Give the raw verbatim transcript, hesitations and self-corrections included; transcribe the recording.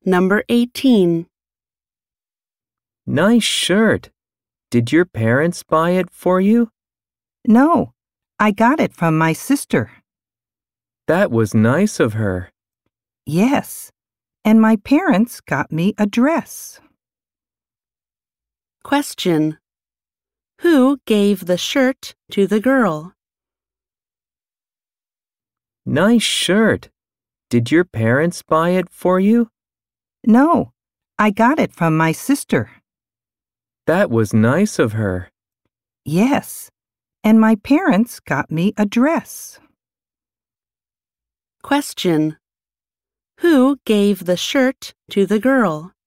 Number eighteen. Nice shirt. Did your parents buy it for you? No, I got it from my sister. That was nice of her. Yes, and my parents got me a dress. Question. Who gave the shirt to the girl? Nice shirt. Did your parents buy it for you? No, I got it from my sister. That was nice of her. Yes, and my parents got me a dress. Question. Who gave the shirt to the girl?